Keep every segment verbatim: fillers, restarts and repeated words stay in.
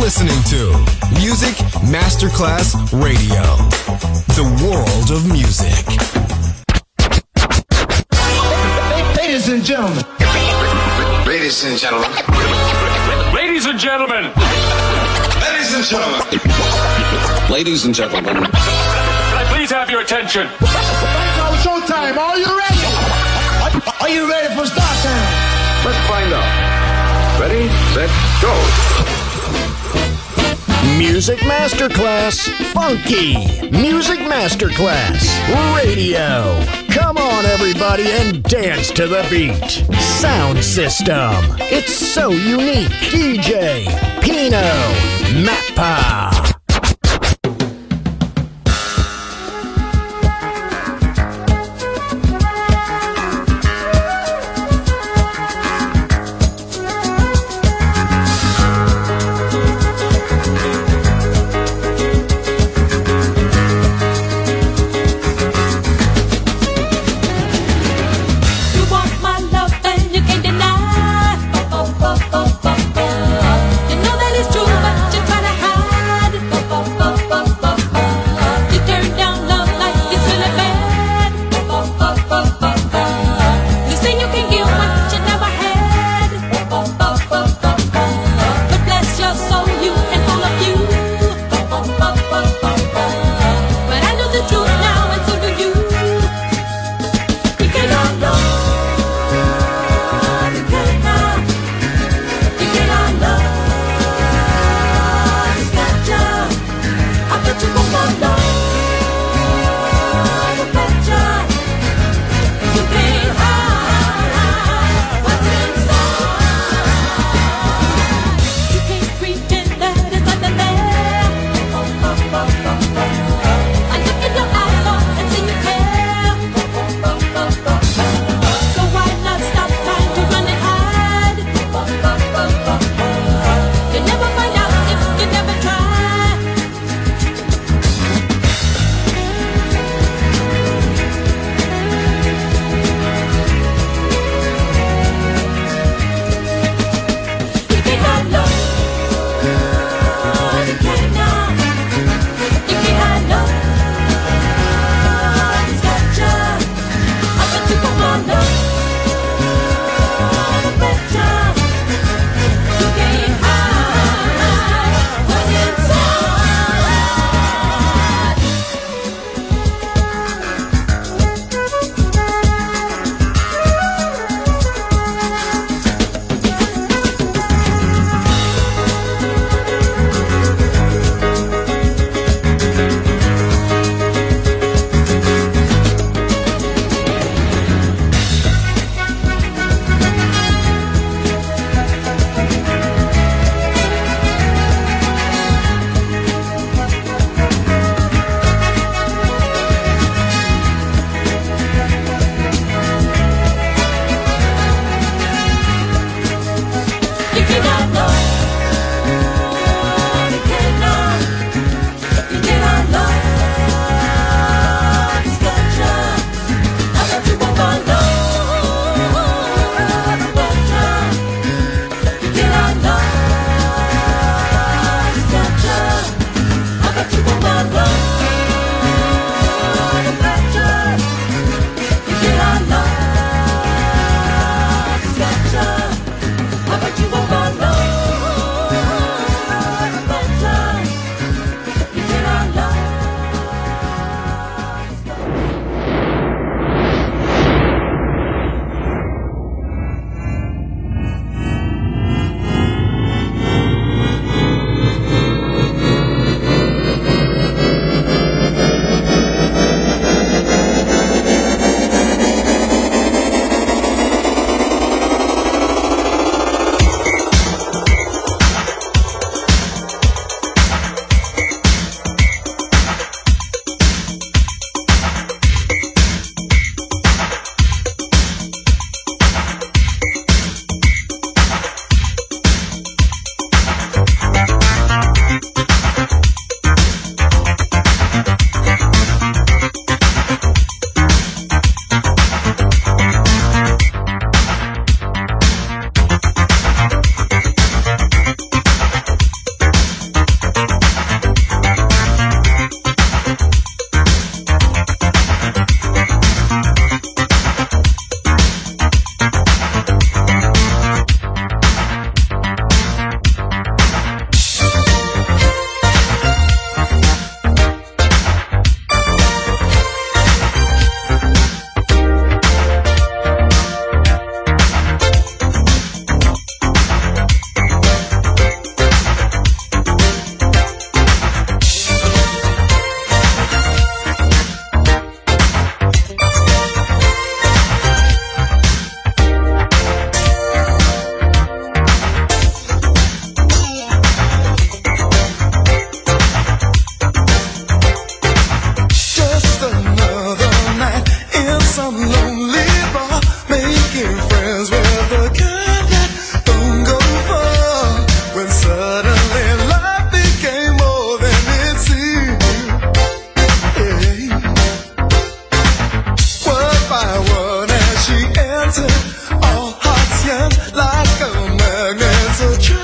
listening to Music Masterclass Radio, the world of music. Ladies and gentlemen. Ladies and gentlemen. Ladies and gentlemen. Ladies and gentlemen. Ladies and gentlemen. Can I please have your attention? It's showtime. Are you ready? Are you ready for start time? Let's find out. Ready, set, go. Music Masterclass Funky. Music Masterclass Radio. Come on, everybody, and dance to the beat. Sound system. It's so unique. D J Pino Mappa. You know that it's true, but you're trying to hide.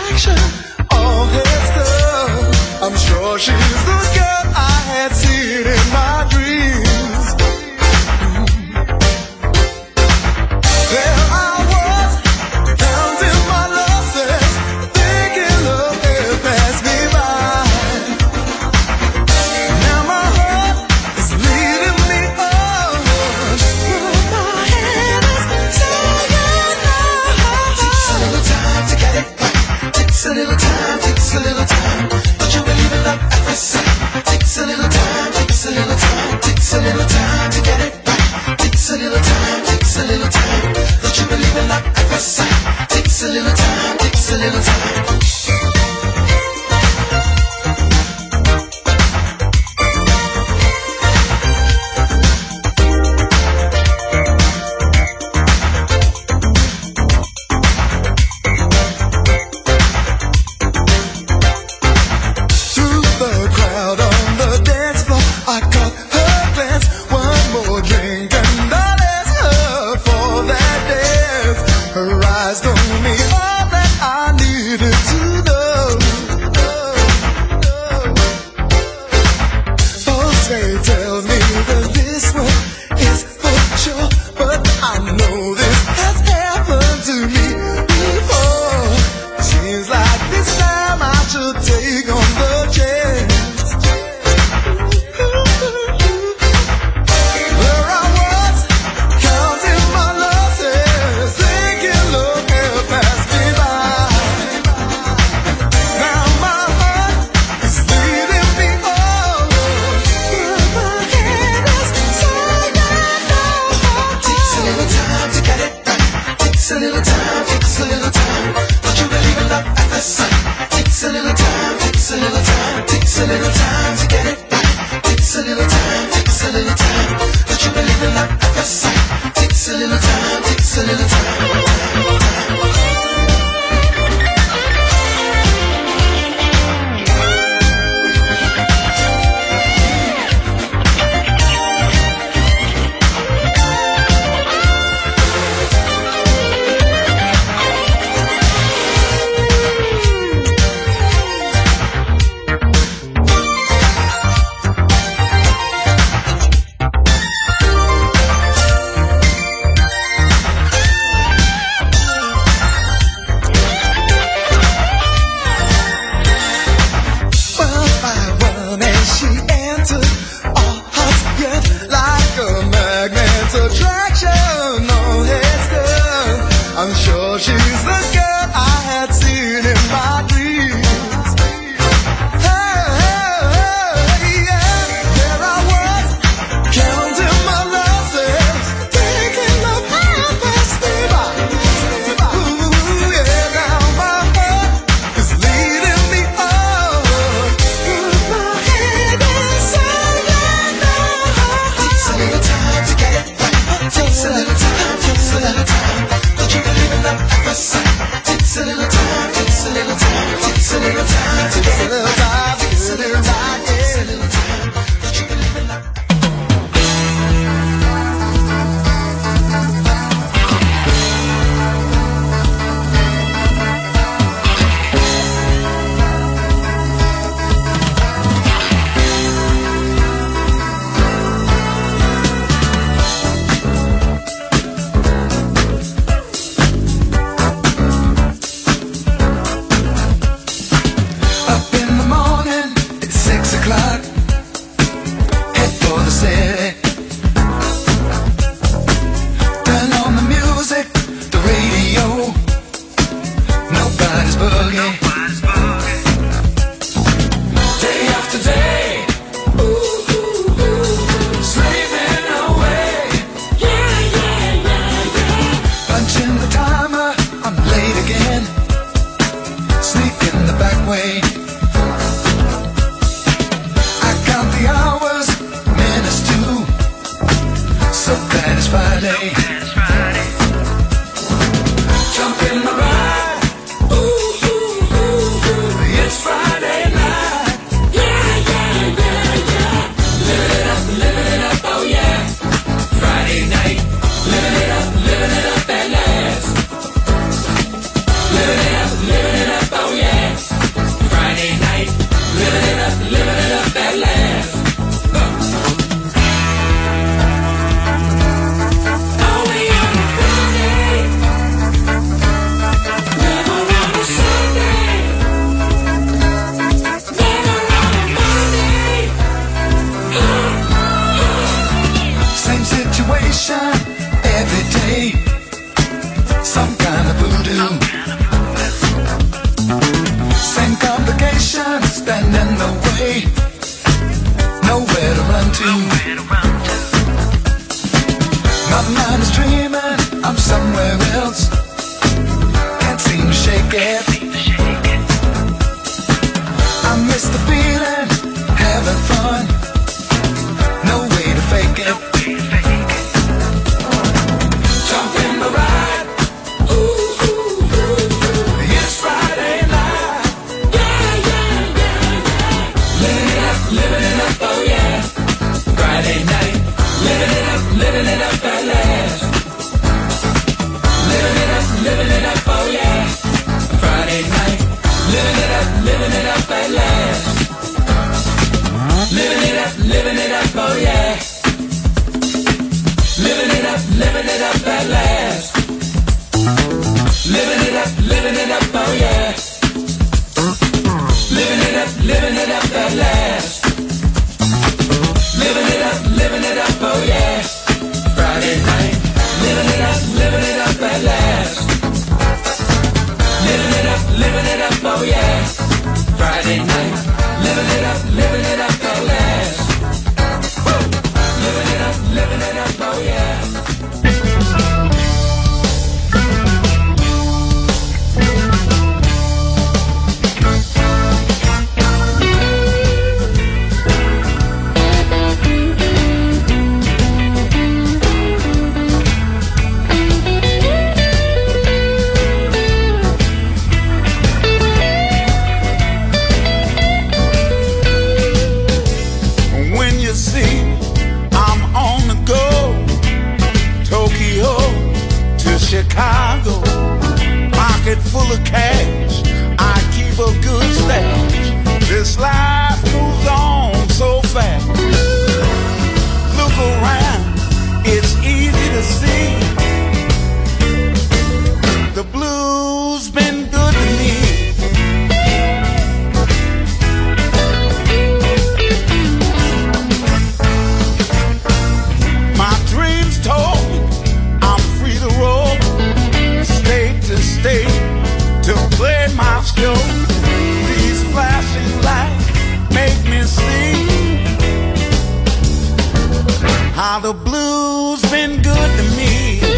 distraction of his stuff. I'm sure she's the girl I had seen in my dreams. There I was, counting my losses, thinking love had passed me by. Now my heart is leading me on, but my head is saying no. Takes a little time to get it right. Takes a little time, takes a little time. Don't you believe in love at first sight? Takes a little time, takes a little time, takes a little time to get it right. Takes a little time, takes a little time. Don't you believe in love at first sight? Takes a little time, takes a little time. Living it up, living it up, oh yeah. to. My mind is dreaming, I'm somewhere else. Can't seem to shake it. I miss the feeling, having fun. No way to fake it. Jump in the ride. Ooh, ooh, ooh. It's Friday night. Yeah, yeah, yeah, yeah. Living it up, living it up, oh yeah. Friday night. Living it up, living it up at last. Living it up, living it up, oh yeah. Friday night. Living it up, living it up at last. Living it up, living it up, oh yeah. Living it up, living it up at last. Living it up, living it up, oh yeah. Living it up, living it up at last. Living it up, living it up, oh yeah. Friday night. Living it up, living it up at last. Living it up, living it up, oh yeah. Friday night. Living it up, living it up at last. Woo! Living it up, living it up, oh yeah. Chicago, pocket full of cash, I keep a good stash. This life moves on so fast. Look around, it's easy to see. The blues been good to me. My dreams told me I'm free to roll, state to state, to play my show. These flashing lights make me see how the blues been good to me.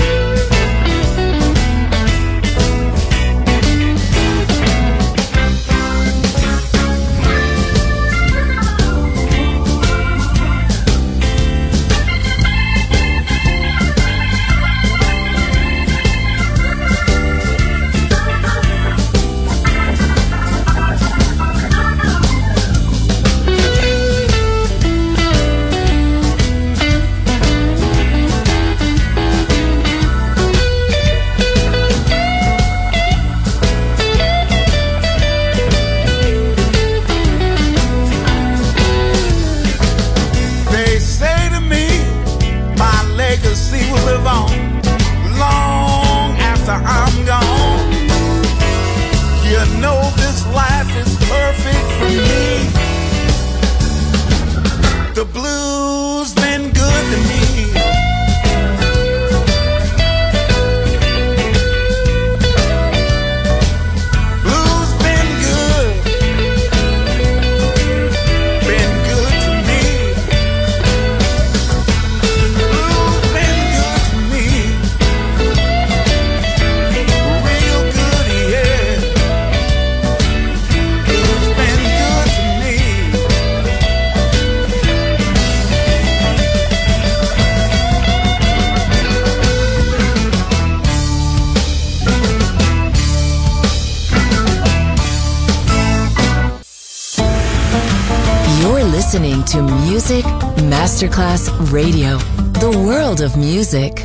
Listening to Music Masterclass Radio, the world of music.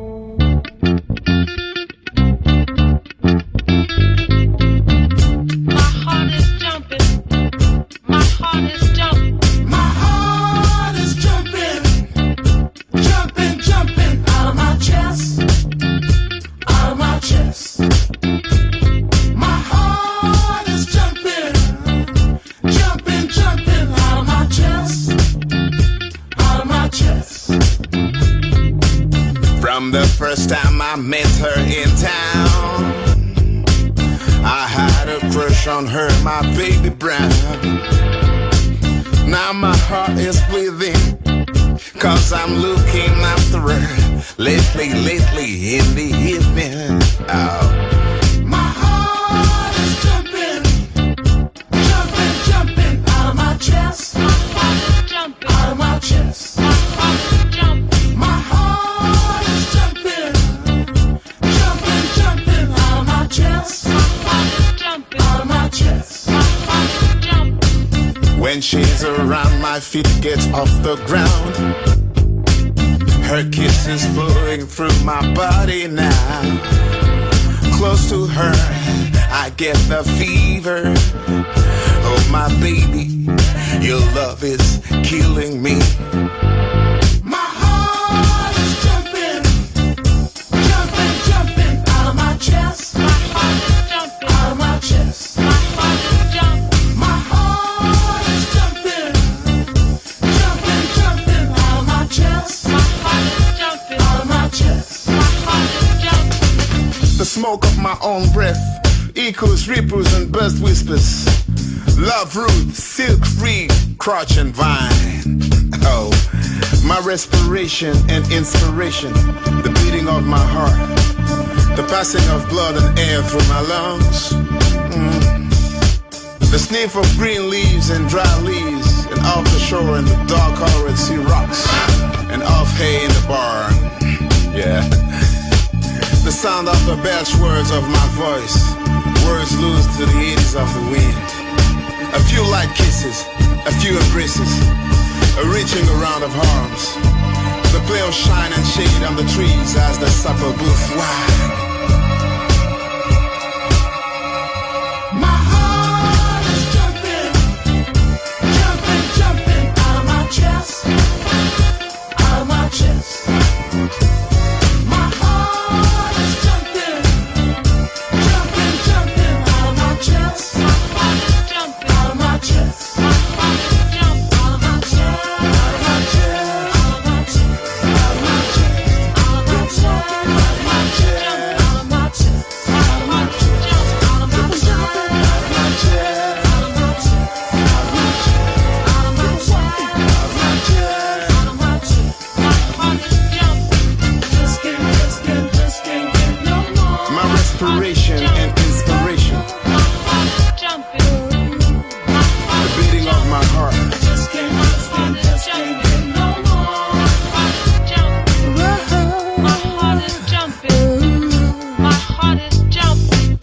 First time I met her in town, I had a crush on her, my baby brown. Now my heart is bleeding, Cause I'm looking after her lately, lately in the evening. Oh. My heart is jumping, jumping, jumping out of my chest. My heart is jumping out of my chest. My heart is jumping. My heart is jumping, jumping, jumping out of my chest. My heart is jumping out of my chest. My heart is jumping. When she's around, my feet get off the ground. Her kisses flowing through my body now. Close to her, I get the fever. Oh my baby, your love is killing me. My heart is jumping, jumping, jumping out of my chest. My heart is jumping out of my chest. My heart is jumping. My heart is jumping, jumping, jumping out of my chest. My heart is jumping out of my chest. My heart is jumping. The smoke of my own breath echoes, ripples and burst whispers. Love root, silk free, crotch and vine. Oh, my respiration and inspiration, the beating of my heart, the passing of blood and air through my lungs. Mm. The sniff of green leaves and dry leaves, and off the shore and the dark colored sea rocks, and off hay in the barn. Yeah. The sound of the belch words of my voice, words loose to the eddies of the wind. A few light kisses, a few embraces, a reaching around of arms. The play of shine and shade on the trees as the supper booth wide. My heart is jumping, jumping, jumping out of my chest, out of my chest. My heart is jumping, jumping, jumping out of my chest. My heart is jumping out of my chest. My heart is jumping out of my chest, out of my chest, out of my chest, out of my chest, out of my chest, out of my chest, out of my chest, out of my chest, out of my chest, out of my chest, out of my chest, out of my chest, out of my chest, out of my chest. My heart is jumping. Just can't, just can't, just can't get no more. My respiration and inspiration, My heart is jumping. My heart the beating of my heart. just can't, just can't, just can't get no more. My heart is jumping. My heart is jumping. My heart is jumping.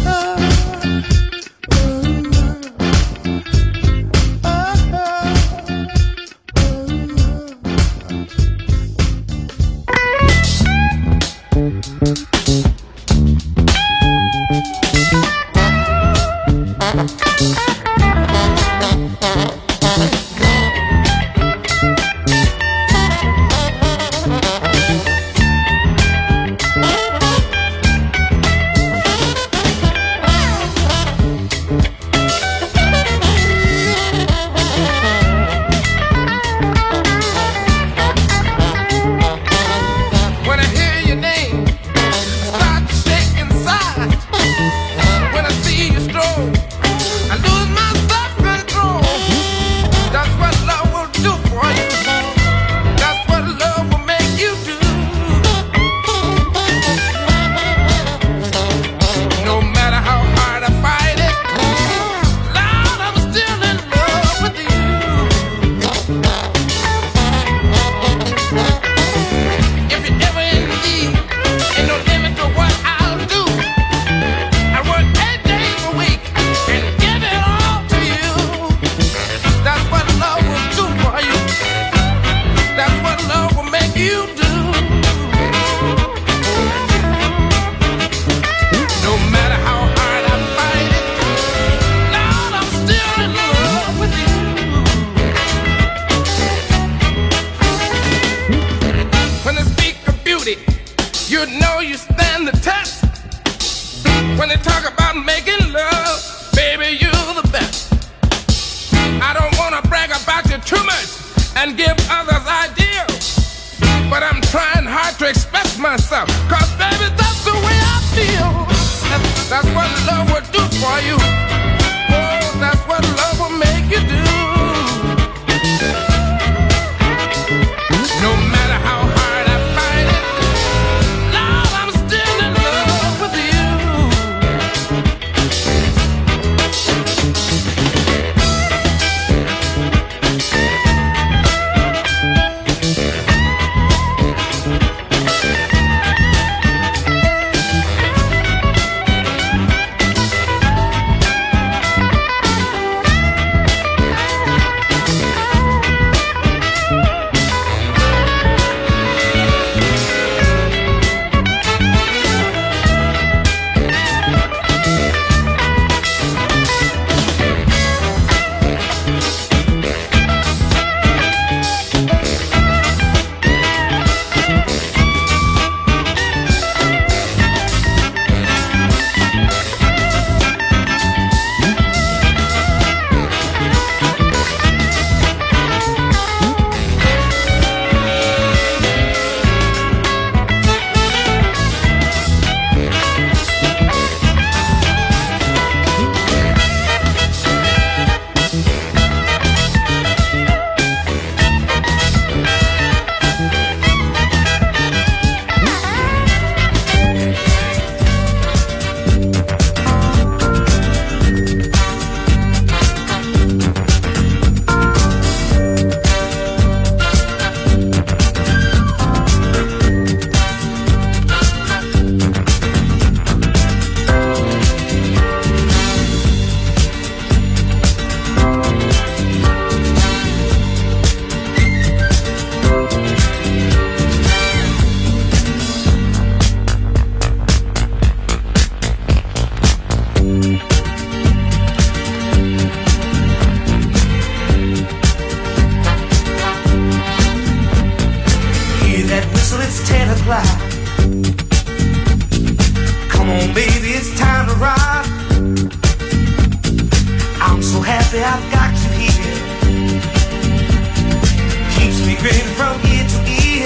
When I hear your name, I start to shake inside. When I see you stroll, I lose my self-control. That's what love will do for you. That's what love will make you do. No matter how hard I fight it, Lord, I'm still in love with you. If you're ever in need, ain't no limit to what I'll do. I work eight days a week and give it all to you. That's what love will do for you. That's what love will make you do. No matter how hard I fight it, Lord, I'm still in love with you. When they speak of beauty, you know you stand the test. When they talk about making love, baby, you're the best. I don't want to brag about you too much and give others ideas, but I'm trying hard to express myself, cause baby, that's the way I feel. That's, that's what love will do for you. Oh, that's what love will make you do. happy I've got you here. Keeps me grinning from ear to ear.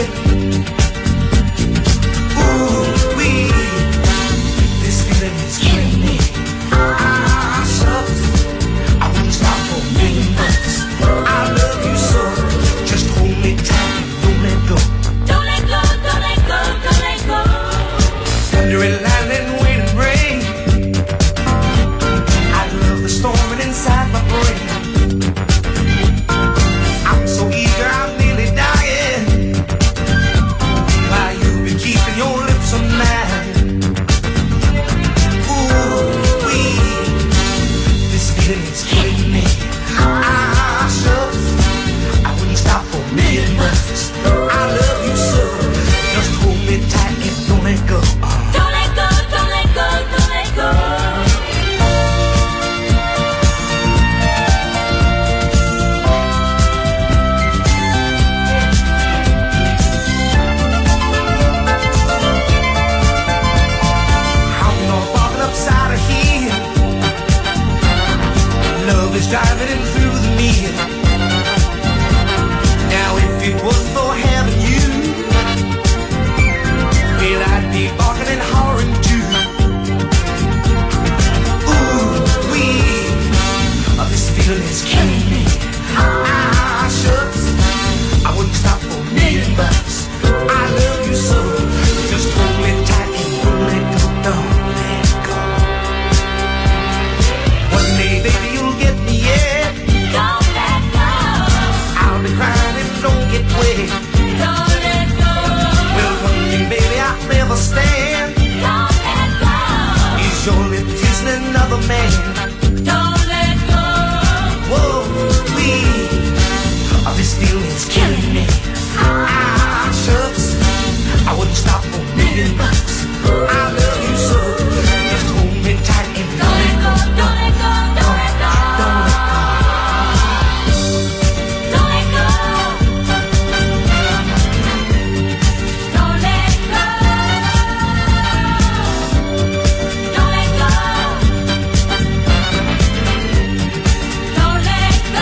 Ooh, wee, this feeling is killing me. Ah, shucks, I wouldn't stop for a million bucks. I love you so, just hold me tight and don't let go. Don't let go, don't let go, don't let go. Thunder and lightning, wind and rain. I love the storming inside my brain. I'm so eager, I'm nearly dying. While you've been keeping your lips on mine. Ooh, wee, this feeling is killing me. Ah, shucks, I wouldn't stop for a million bucks. I love you so, just hold me tight and don't let go. Don't let go, don't let go, don't let go. I'm not walking upside of here. Love is driving in through the mirror. Now if it wasn't for having you, well, I'd be barking and hollering too. Ooh, wee, oh, this feeling is killing me. Ah, shucks, I wouldn't stop for a million bucks. I love you so, just hold me tight and don't let go, don't let go. One day, baby, you'll get me, yeah. Don't let go, I'll be crying if you don't get wet. don't let go, Well, one thing, baby, I'll never stand don't let go, is your lip kissing another man. don't let go. Whoa, wee, oh, this feeling's killing me. Ah, shucks, I wouldn't stop for a million bucks. I love you so, just hold me tight and Don't don't let let go, go. don't let go, don't let go. Don't let go. Don't let go. Don't let go. Don't let go. Don't let go.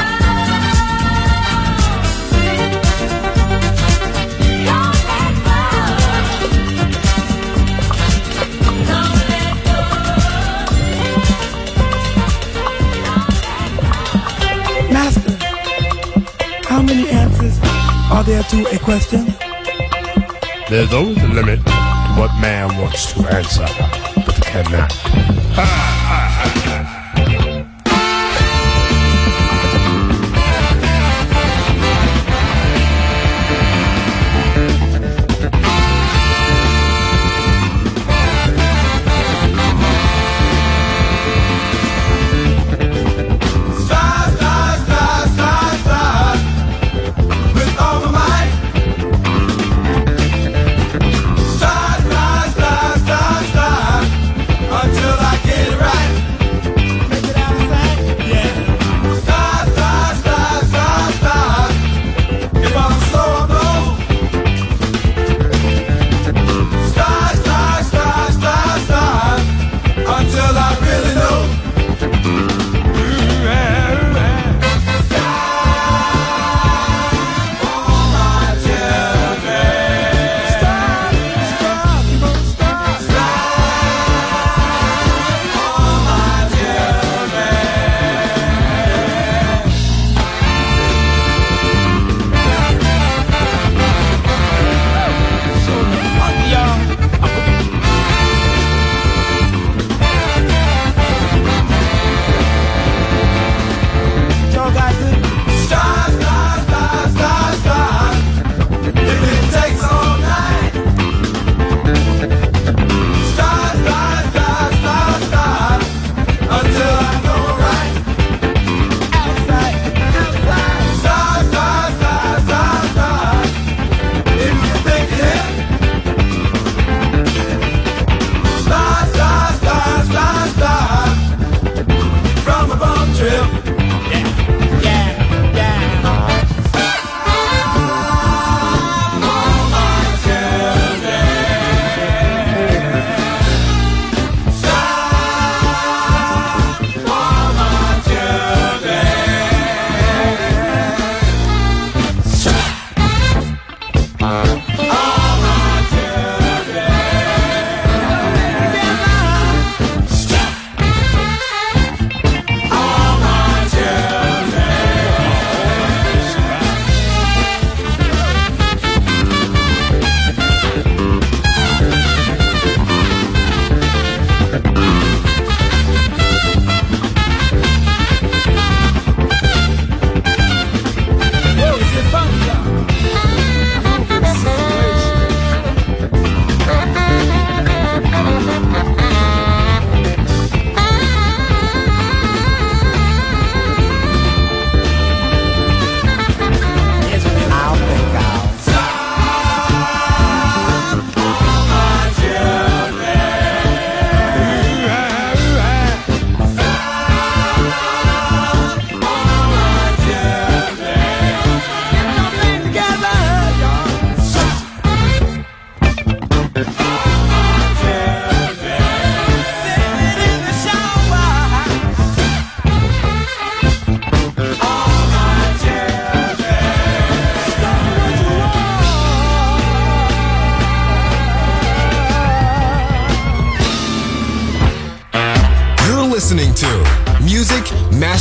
Master, how many answers are there to a question? There's always a limit to what man wants to answer, but cannot. Until I get it right.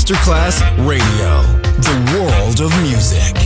Masterclass Radio, the world of music.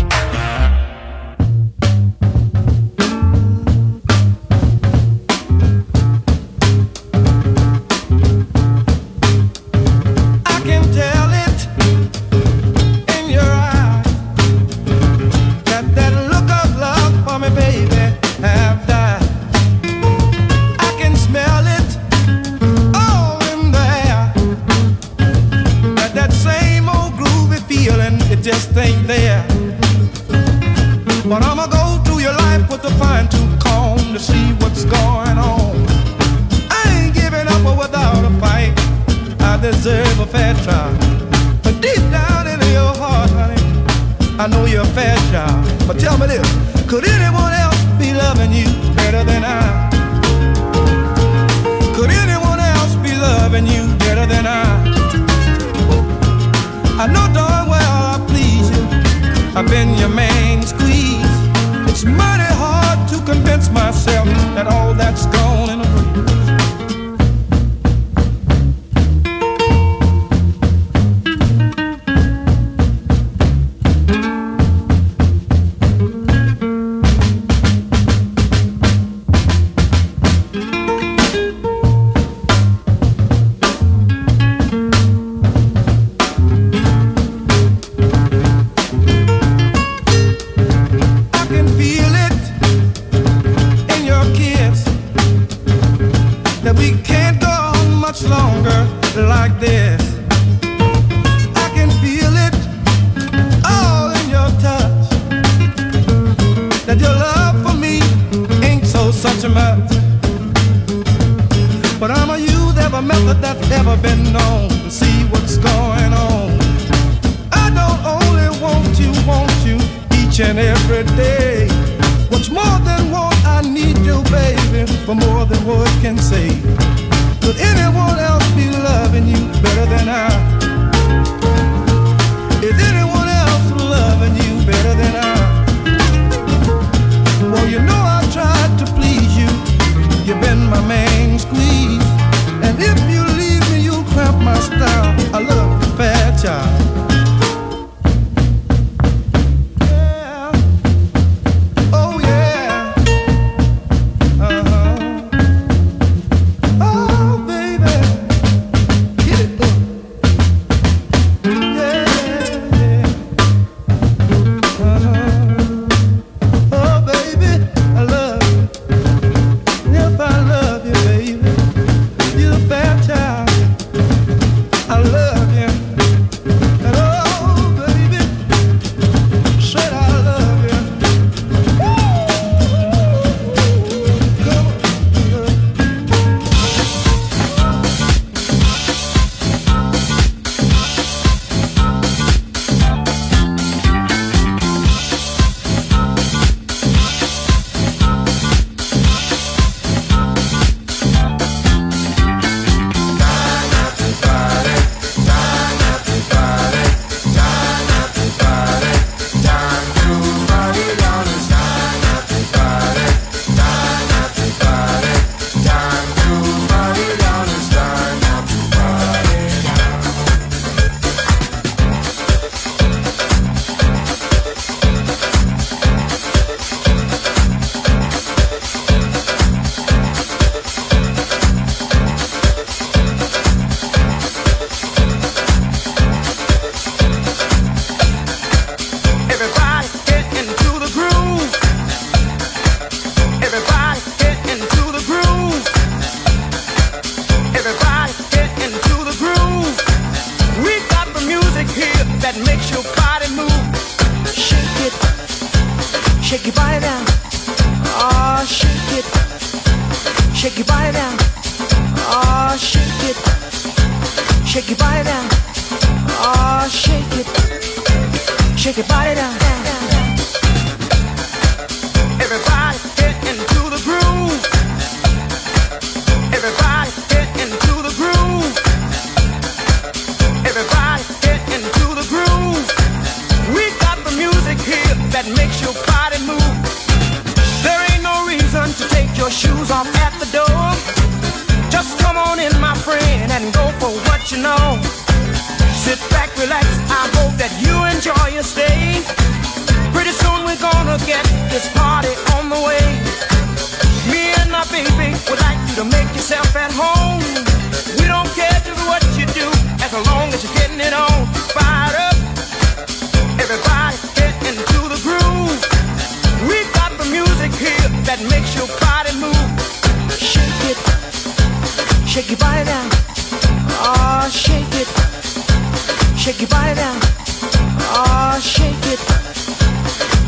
Sit back, relax.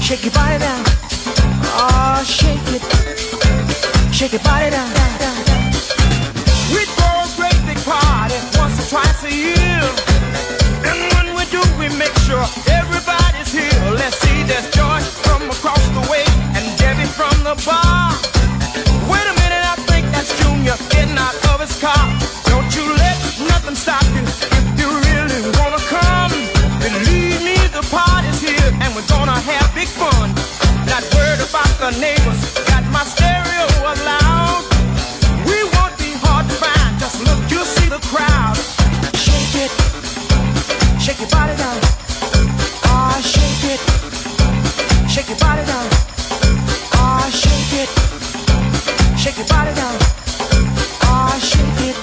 Shake your body down. Oh, shake it. Shake your body down. We throw a great big party once or twice a year. And when we do, we make sure everybody's here. Let's see, there's Joy from across the way and Debbie from the bar. Wait a minute, I think that's Junior getting out of his car. Don't you let nothing stop you if you really wanna come. Believe me, the party's here and we're gonna have big fun. Not worried about the neighbors, got my stereo loud. We won't be hard to find, just look, you'll see the crowd. Shake it. Shake your body down. Oh, shake it. Shake your body down. Oh, shake it. Shake your body down. Oh, shake it.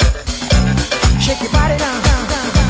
Shake your body down, down, down, down.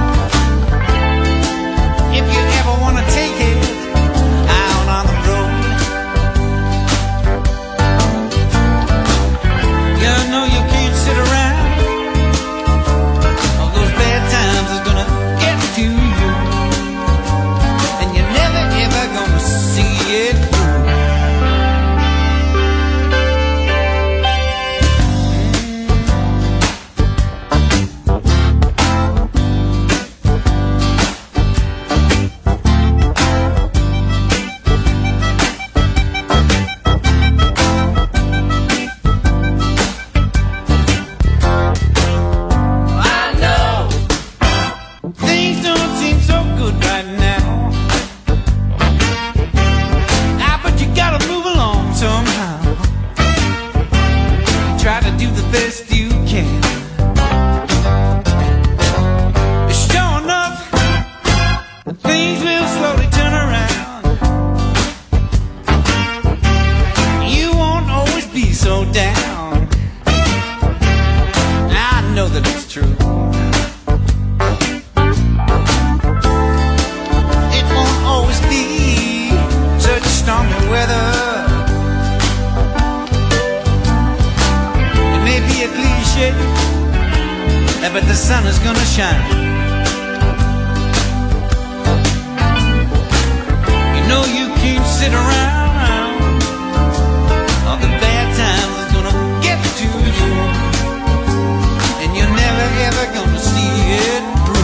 If you ever wanna take it out on the road, the sun is gonna shine. You know you can't sit around, all the bad times is gonna get to you, and you're never ever gonna see it through.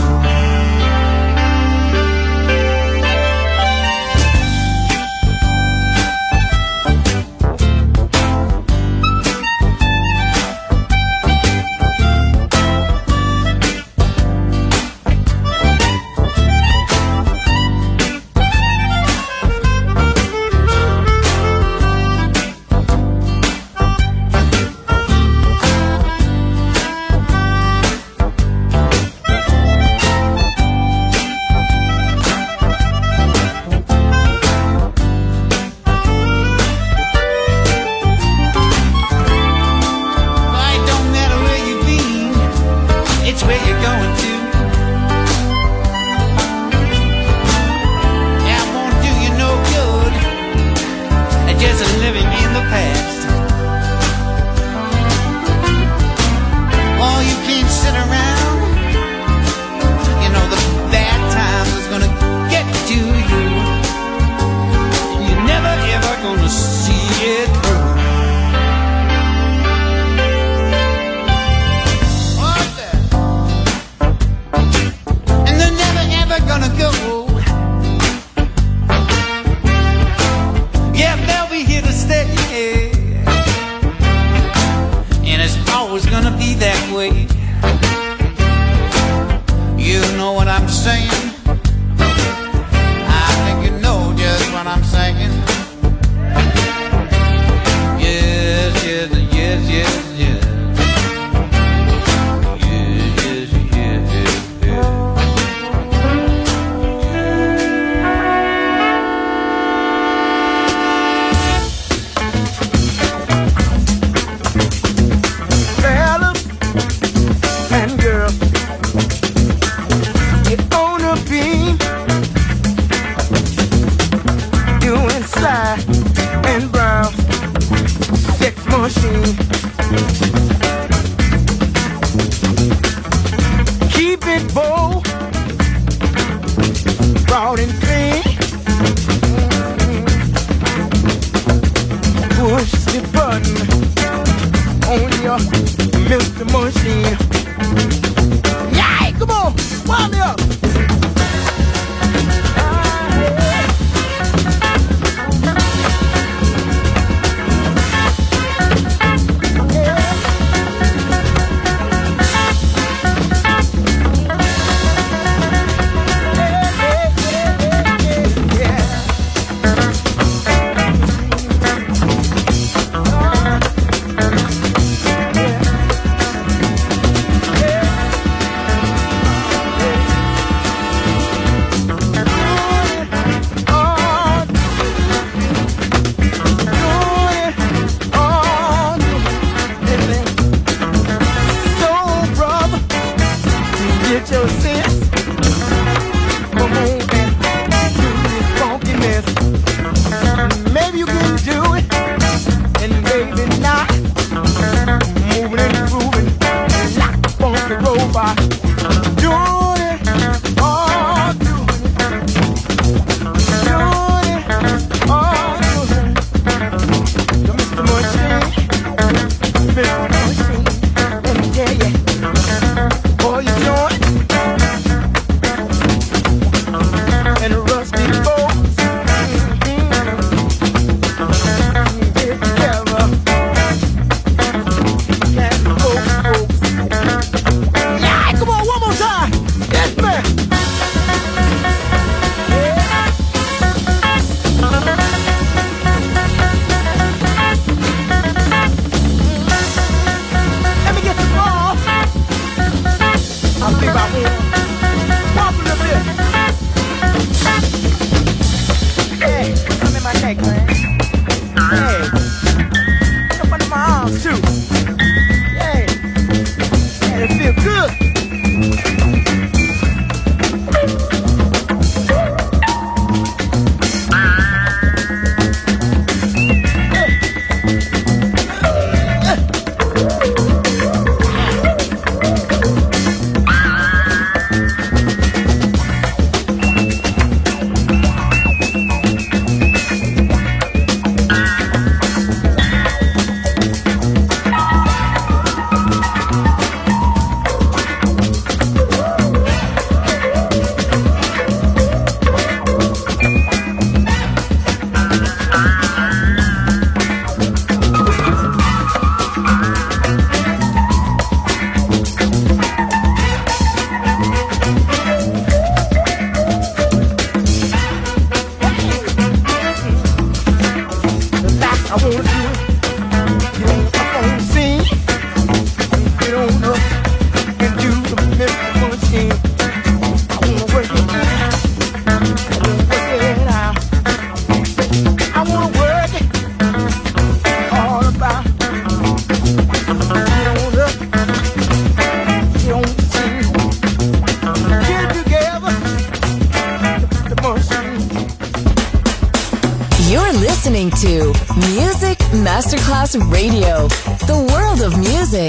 listening to Music Masterclass Radio, the world of music.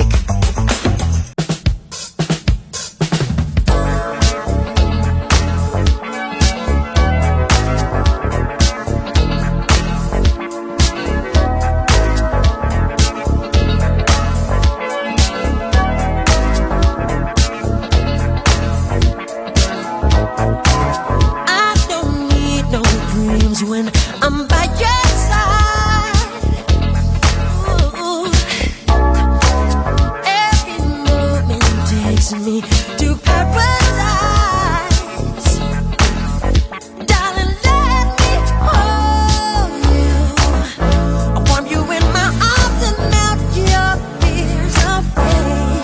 When I'm by your side, ooh, every moment takes me to paradise. Darling, let me hold you. I warm you in my arms and melt your fears away.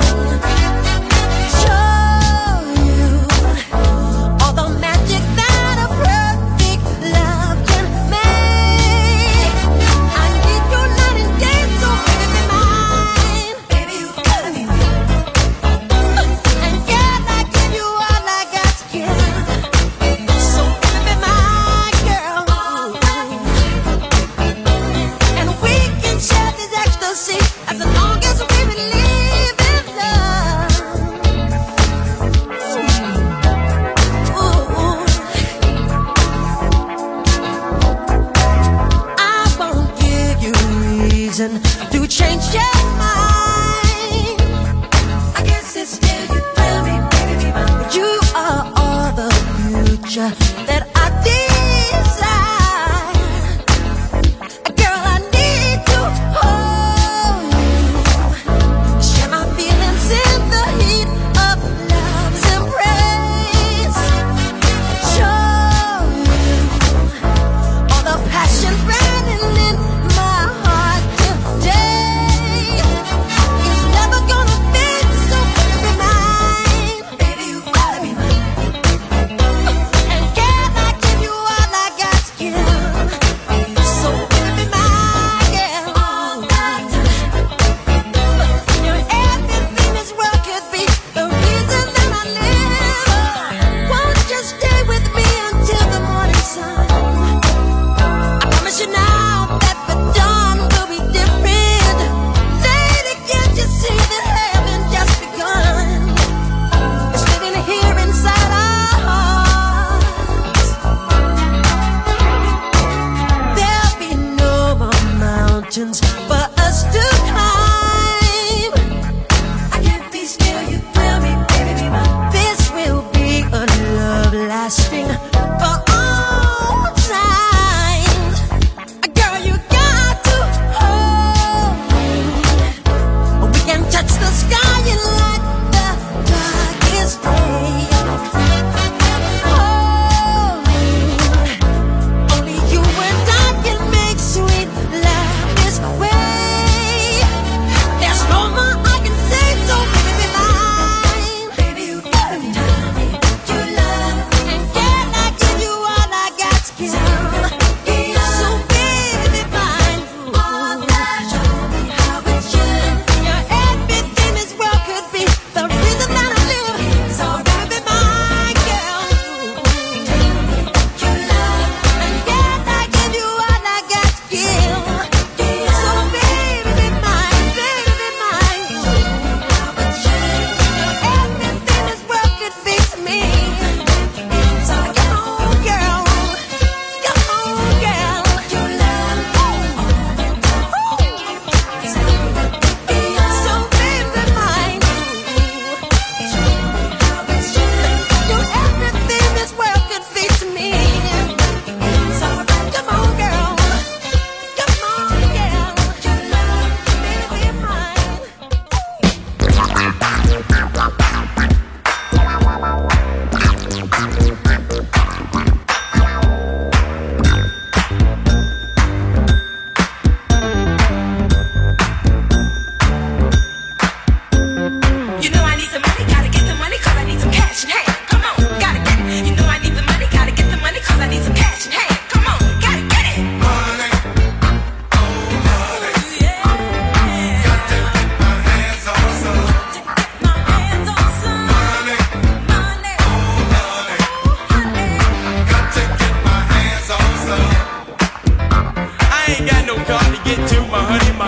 Show you all the magic that a perfect love can make. I need you night and day, so baby be mine. Baby, you gotta be mine. And girl, I give you all I got to give. So baby be my girl. And we can share this ecstasy as long as we believe in love. Ooh. I won't give you reason to change your mind. I guess it's still you tell me, baby, be mine. You are all the future that I desire. Girl, I need to hold you. Share my feelings in the heat of love's embrace. Show you all the passion burning in my heart today. It's never gonna fade, so baby be mine. Baby, you gotta be mine. And can I give you all I got to give? So baby be my girl. You're everything this world could be, the reason that I live. Won't you stay with me until the morning sun? I promise you now that the dawn will be different. Lady, can't you see that heaven just begun? It's living here inside our hearts. There'll be no more mountains for us to climb. I can't be still, you thrill me, baby, be mine. This will be a love lasting for all times. Girl, you got to hold me. We can touch the sky and light the darkest day. Hold me. Only you and I can make sweet love this way.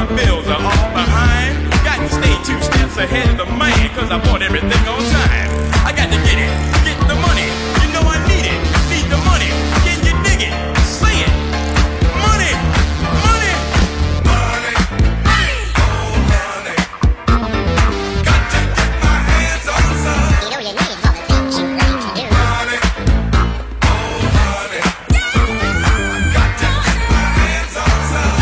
my bills are all behind. Got to stay two steps ahead of the man, cause I bought everything on time. I got to get it, get the money. You know I need it, need the money. Can you dig it? Say it. Money, money, money, money, oh money. Got to get my hands on some. You know you need all the things you like to do. Money, oh money. Got to get my hands on some.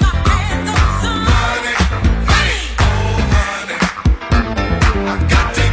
Money, money, oh money. I got to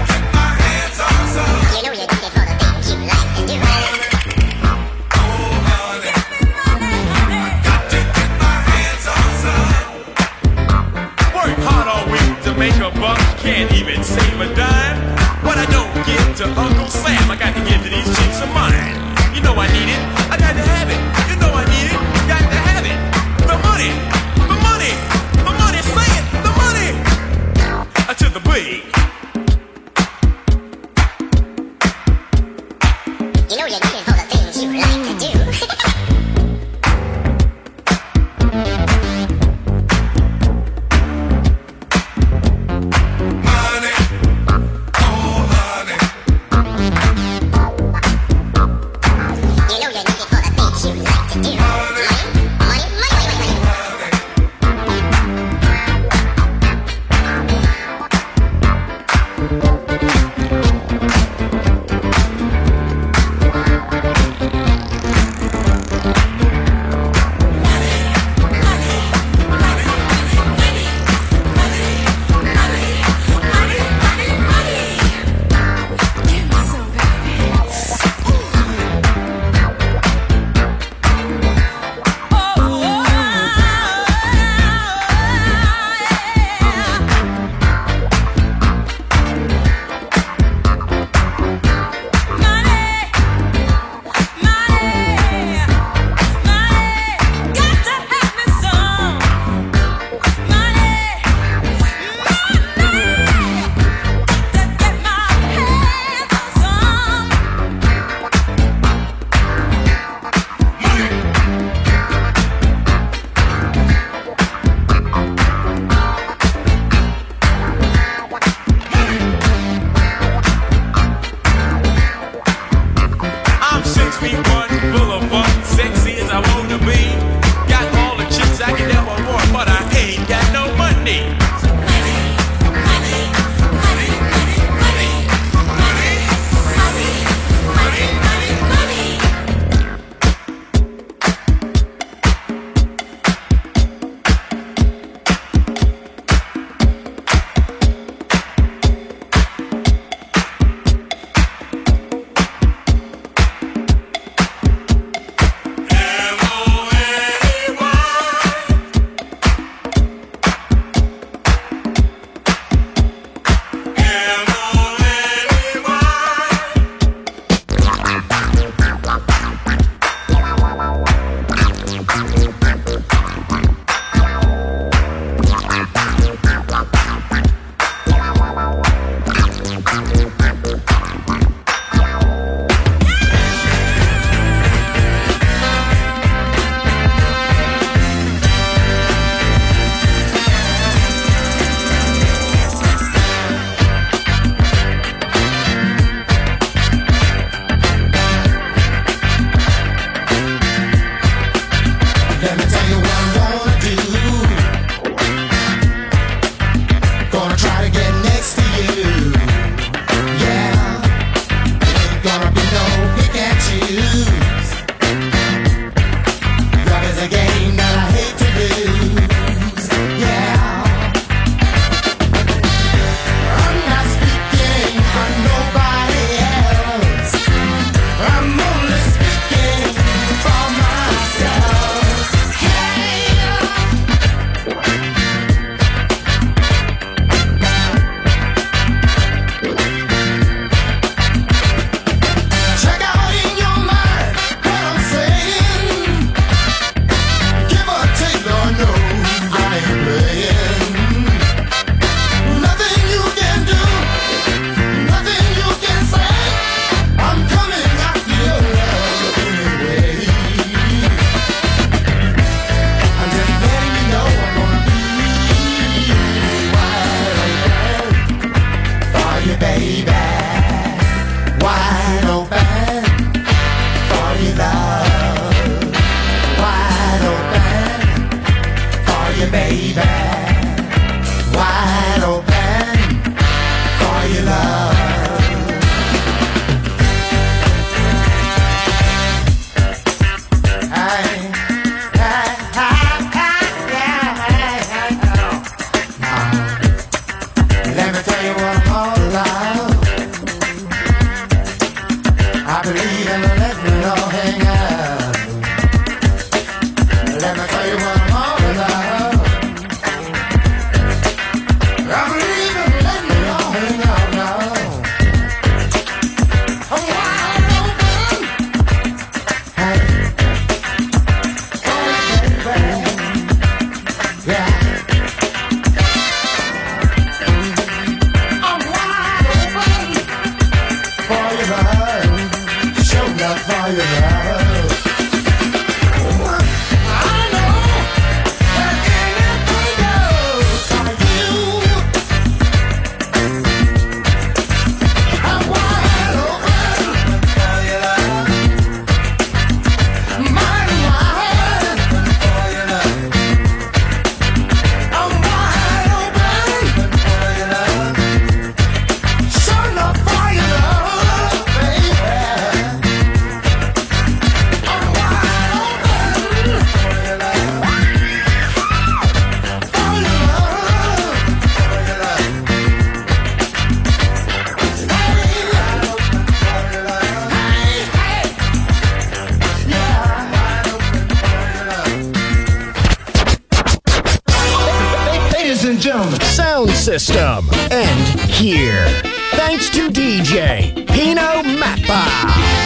system and here. Thanks to D J Pino Mappa.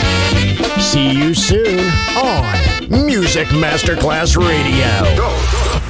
See you soon on Music Masterclass Radio.